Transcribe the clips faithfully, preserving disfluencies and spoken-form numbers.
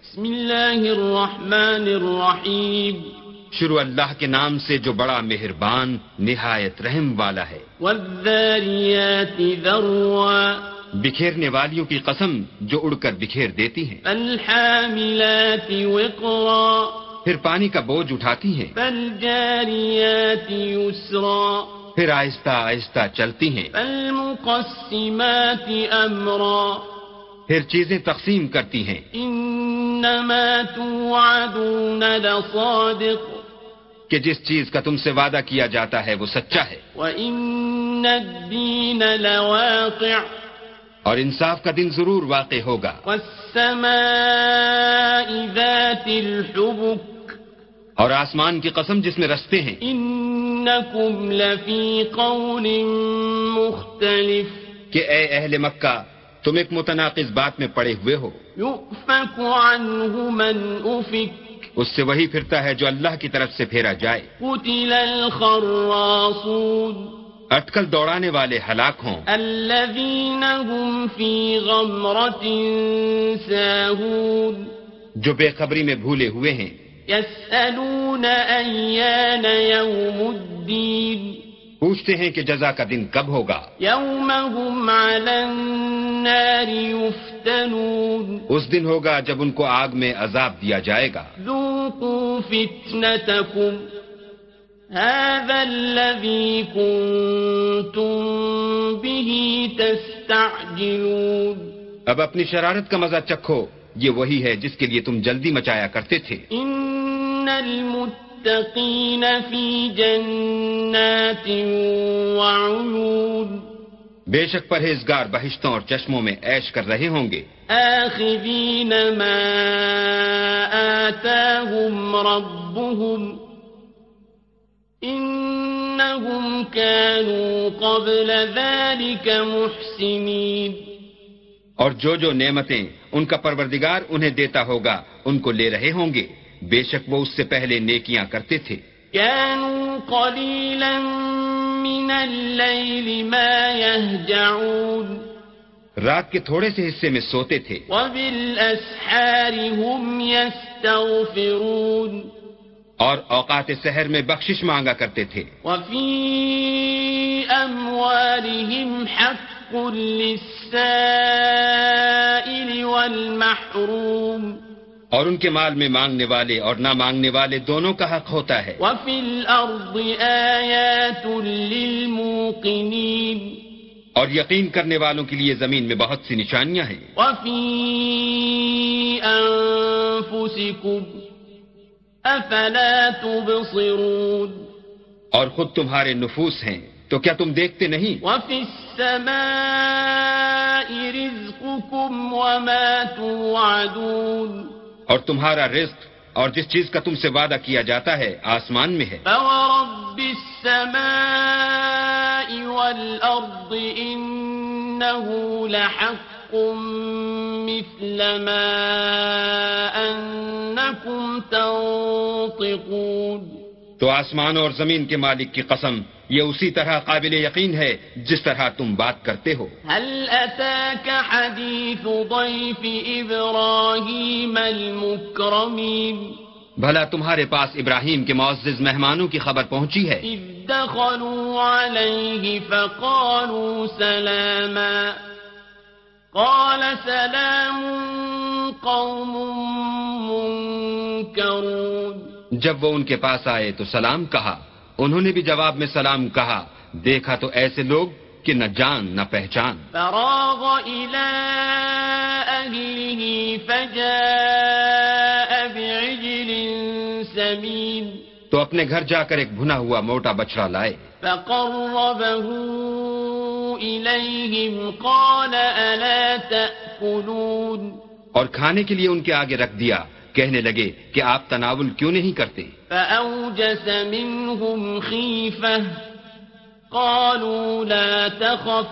بسم اللہ الرحمن الرحیم شروع اللہ کے نام سے جو بڑا مہربان نہایت رحم والا ہے. والذاریات ذروا بکھیرنے والیوں کی قسم جو اڑ کر بکھیر دیتی ہیں. فالحاملات وقرا پھر پانی کا بوجھ اٹھاتی ہیں. فالجاریات یسرا پھر آہستہ آہستہ چلتی ہیں. فالمقسمات امرا پھر چیزیں تقسیم کرتی ہیں. انما توعدون لصادق کہ جس چیز کا تم سے وعدہ کیا جاتا ہے وہ سچا ہے. وان الدین لواقع اور انصاف کا دن ضرور واقع ہوگا. والسماء ذات الحبک اور آسمان کی قسم جس میں رستے ہیں. انکم لفی قول مختلف کہ اے اہل مکہ تم ایک متناقض بات میں پڑے ہوئے ہو. یؤفک عنہ من افک اس سے وہی پھرتا ہے جو اللہ کی طرف سے پھیرا جائے. قتل الخراصون اٹکل دوڑانے والے ہلاک ہوں. الذین هم فی غمرة ساہون جو بے خبری میں بھولے ہوئے ہیں. یسألون ایان یوم الدین پوچھتے ہیں کہ جزا کا دن کب ہوگا. یوم هم علی النار یفتنون اس دن ہوگا جب ان کو آگ میں عذاب دیا جائے گا. ذوقوا فتنتکم هذا الذي كنتم به تستعجلون اب اپنی شرارت کا مزہ چکھو یہ وہی ہے جس کے لیے تم جلدی مچایا کرتے تھے. ان المتقین فی جنات وعیون بے شک پرہیزگار بہشتوں اور چشموں میں عیش کر رہے ہوں گے. آخذین ما آتاهم ربهم انہم كانوا قبل ذلك محسنین اور جو جو نعمتیں ان کا پروردگار انہیں دیتا ہوگا ان کو لے رہے ہوں گے. بے شک وہ اس سے پہلے نیکیاں کرتے تھے. كانوا قلیلا من اللیل ما یہجعون رات کے تھوڑے سے حصے میں سوتے تھے. وبالاسحار هم یستغفرون اور اوقات سحر میں بخشش مانگا کرتے تھے. وفی اموالهم حق للسائل والمحروم اور ان کے مال میں مانگنے والے اور نہ مانگنے والے دونوں کا حق ہوتا ہے. وفی الارض آیات للموقنین اور یقین کرنے والوں کے لیے زمین میں بہت سی نشانیاں ہیں. وفی انفسکم افلا تبصرون اور خود تمہارے نفوس ہیں تو کیا تم دیکھتے نہیں. وفی السماء رزقکم وما توعدون اور تمہارا رزق اور جس چیز کا تم سے وعدہ کیا جاتا ہے آسمان میں ہے. فورب السماء والارض انه لحق مثل ما انکم تنطقون تو آسمان اور زمین کے مالک کی قسم یہ اسی طرح قابل یقین ہے جس طرح تم بات کرتے ہو. هل اتاك حدیث ضیف ابراہیم المکرمین بھلا تمہارے پاس ابراہیم کے معزز مہمانوں کی خبر پہنچی ہے. اذ دخلوا علیہ فقالوا سلاما قال سلام قوم منکرون جب وہ ان کے پاس آئے تو سلام کہا. انہوں نے بھی جواب میں سلام کہا. دیکھا تو ایسے لوگ کہ نہ جان نہ پہچان. فراغ إلى أهله فجاء بعجل سمين تو اپنے گھر جا کر ایک بھنا ہوا موٹا بچڑا لائے. فقربه إليهم قال ألا تأكلون اور کھانے کے لیے ان کے آگے رکھ دیا. کہنے لگے کہ آپ تناول کیوں نہیں کرتے. فأوجس منهم خيفة قالوا لا تخف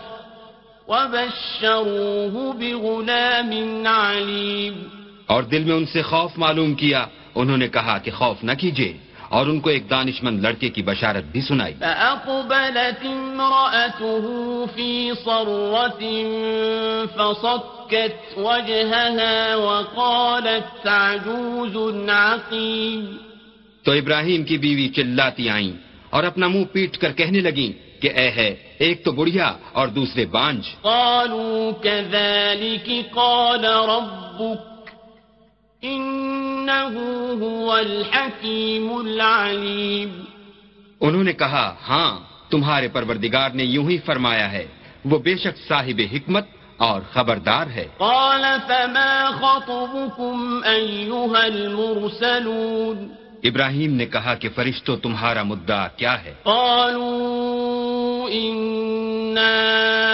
وبشروه بغلام عليم اور دل میں ان سے خوف معلوم کیا. انہوں نے کہا کہ خوف نہ کیجیے اور ان کو ایک دانشمند لڑکے کی بشارت بھی سنائی. فأقبلت امرأته في صرة فصكت وجهها وقالت عجوز عقيم. تو ابراہیم کی بیوی چلاتی آئیں اور اپنا منہ پیٹ کر کہنے لگیں کہ اے ہے ایک تو بڑھیا اور دوسرے بانج. قالوا كذلك قال ربك إنه هو الحكيم العليم. انہوں نے کہا ہاں تمہارے پروردگار نے یوں ہی فرمایا ہے، وہ بے شک صاحب حکمت اور خبردار ہے. قال فما خطبكم أيها المرسلون. ابراہیم نے کہا کہ فرشتوں تمہارا مدعا کیا ہے؟ قالوا إنا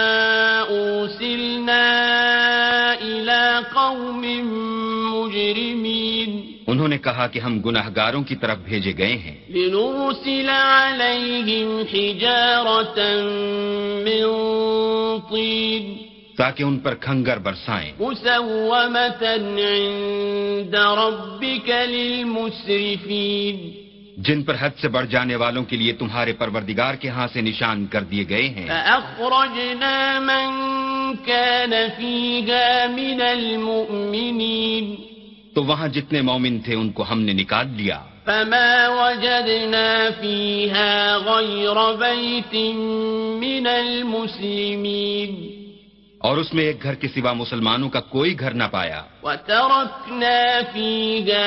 أرسلنا إلى قوم مجرمين. انہوں نے کہا کہ ہم گناہگاروں کی طرف بھیجے گئے ہیں. لنرسل عليهم حجارة من طين تاکہ ان پر کھنگر برسائیں. مسومة عند ربك للمسرفين. جن پر حد سے بڑھ جانے والوں کے لیے تمہارے پروردگار کے ہاں سے نشان کر دیے گئے ہیں. فأخرجنا من كان فيها من المؤمنين. تو وہاں جتنے مومن تھے ان کو ہم نے نکال لیا. فما وجدنا فيها غير بيت من المسلمين. اور اس میں ایک گھر کے سوا مسلمانوں کا کوئی گھر نہ پایا. وتركنا فيها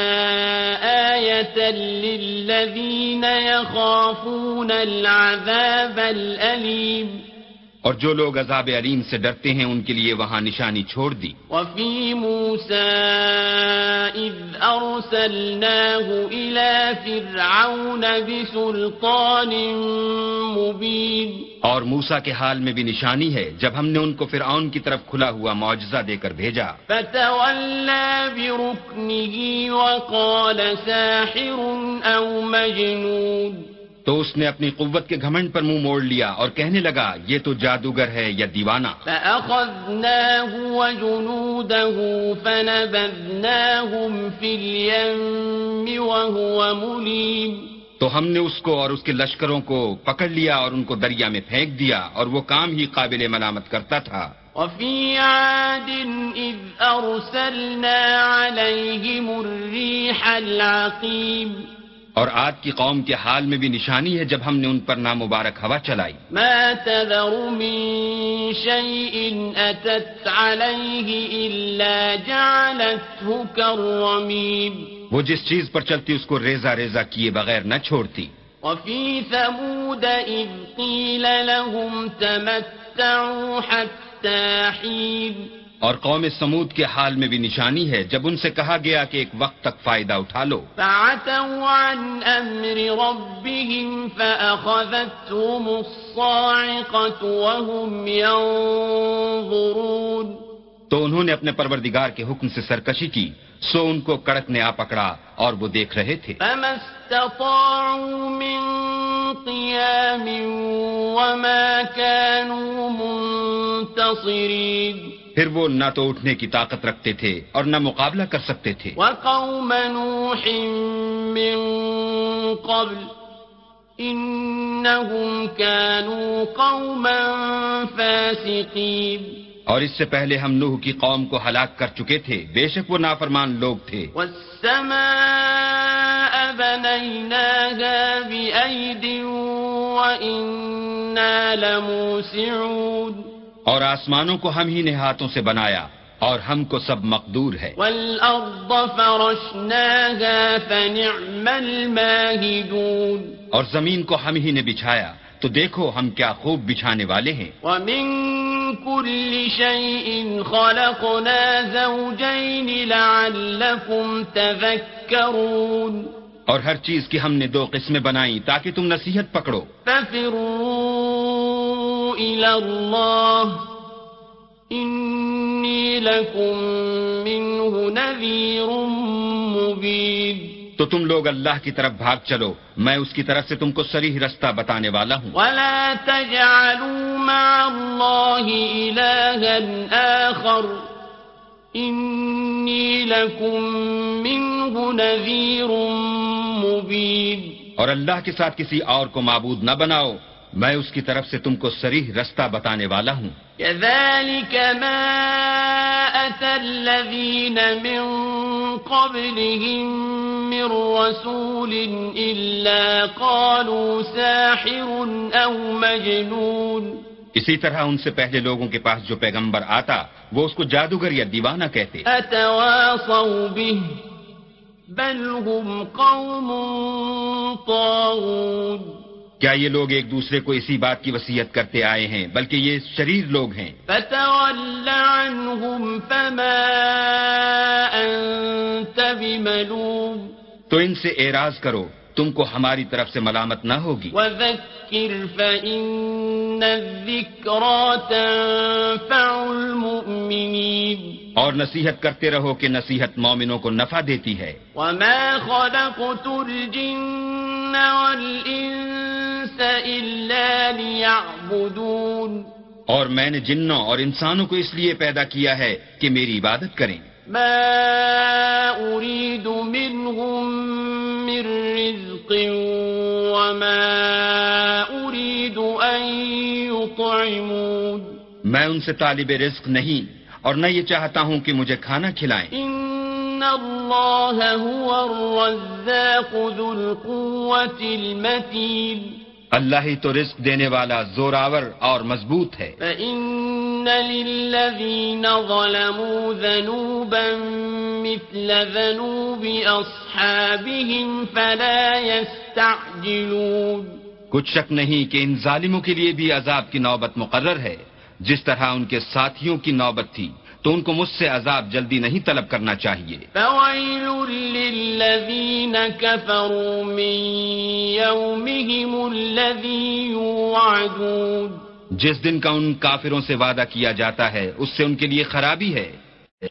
آية للذين يخافون العذاب الأليم. اور جو لوگ عذاب علیم سے ڈرتے ہیں ان کے لیے وہاں نشانی چھوڑ دی. وفي موسى إذ أرسلناه إلى فرعون بسلطان مبين. اور موسیٰ کے حال میں بھی نشانی ہے جب ہم نے ان کو فرعون کی طرف کھلا ہوا معجزہ دے کر بھیجا. فتولى بركنه وقال ساحر أو مجنون. تو اس نے اپنی قوت کے گھمنڈ پر منہ موڑ لیا اور کہنے لگا یہ تو جادوگر ہے یا دیوانہ. فأخذناه وجنوده فنبذناهم في اليم وهو مليم. تو ہم نے اس کو اور اس کے لشکروں کو پکڑ لیا اور ان کو دریا میں پھینک دیا اور وہ کام ہی قابل ملامت کرتا تھا. وفي عاد إذ أرسلنا عليهم الريح العقيم. اور عاد کی قوم کے حال میں بھی نشانی ہے جب ہم نے ان پر نامبارک ہوا چلائی. ما تذر من شيء أتت عليه إلا جعلته كالرميم. وہ جس چیز پر چلتی اس کو ریزہ ریزہ کیے بغیر نہ چھوڑتی. وفي ثمود إذ قيل لهم تمتعوا حتى حين. اور قوم سمود کے حال میں بھی نشانی ہے جب ان سے کہا گیا کہ ایک وقت تک فائدہ اٹھا لو. فعتوا عن أمر ربهم فأخذتهم الصاعقة وهم ينظرون. تو انہوں نے اپنے پروردگار کے حکم سے سرکشی کی سو ان کو کڑک نے آ پکڑا اور وہ دیکھ رہے تھے. فما استطاعوا من قيام وما كانوا منتصرين. پھر وہ نہ تو اٹھنے کی طاقت رکھتے تھے اور نہ مقابلہ کر سکتے تھے. وقوم نوح من قبل إنهم كانوا قوما فاسقين. اور اس سے پہلے ہم نوح کی قوم کو ہلاک کر چکے تھے، بے شک وہ نافرمان لوگ تھے. والسماء بنيناها بأيد وإنا لموسعون. اور آسمانوں کو ہم ہی نے ہاتھوں سے بنایا اور ہم کو سب مقدور ہے. والأرض فرشناها فنعم الماهدون. اور زمین کو ہم ہی نے بچھایا تو دیکھو ہم کیا خوب بچھانے والے ہیں. ومن كل شيء خلقنا زوجين لعلكم تذكرون. اور ہر چیز کی ہم نے دو قسمیں بنائیں تاکہ تم نصیحت پکڑو. ففروا إلى الله إني لكم منه نذير مبين. تو تم لوگ اللہ کی طرف بھاگ چلو، میں اس کی طرف سے تم کو صریح رستہ بتانے والا ہوں. ولا تجعلوا مع الله إلها آخر إني لكم منه نذير مبين. اور اللہ کے ساتھ کسی اور کو معبود نہ بناؤ، میں اس کی طرف سے تم کو صریح رستہ بتانے والا ہوں. كذلك ما أتى الذين من قبلهم من رسول إلا قالوا ساحر أو مجنون. اسی طرح ان سے پہلے لوگوں کے پاس جو پیغمبر آتا وہ اس کو جادوگر یا دیوانہ کہتے. أتواصوا به بل هم قوم طاغون. کیا یہ لوگ ایک دوسرے کو اسی بات کی وصیت کرتے آئے ہیں، بلکہ یہ شریر لوگ ہیں. فتول عنهم فما أنت بملوم. تو ان سے اعراض کرو، تم کو ہماری طرف سے ملامت نہ ہوگی. وذکر فإن الذکرى تنفع المؤمنین. اور نصیحت کرتے رہو کہ نصیحت مومنوں کو نفع دیتی ہے. وما خلقت الجن والانس الا ليعبدون. اور میں نے جنوں اور انسانوں کو اس لیے پیدا کیا ہے کہ میری عبادت کریں. ما أريد منهم من رزق وما أريد أن يطعمون. میں ان سے طالب رزق نہیں اور نہ یہ چاہتا ہوں کہ مجھے کھانا کھلائیں. إن الله هو الرزاق ذو القوة المتين. اللہ ہی تو رزق دینے والا زوراور اور مضبوط ہے. فإن للذين ظلموا ذنوبا مثل ذنوب أصحابهم فلا يستعجلون. کچھ شک نہیں کہ ان ظالموں کے لیے بھی عذاب کی نوبت مقرر ہے. جس طرح ان کے ساتھیوں کی نوبت تھی تو ان کو مجھ سے عذاب جلدی نہیں طلب کرنا چاہیے. فويل للذين كفروا من يومهم الذي يوعدون. جس دن کا ان کافروں سے وعدہ کیا جاتا ہے اس سے ان کے لیے خرابی ہے.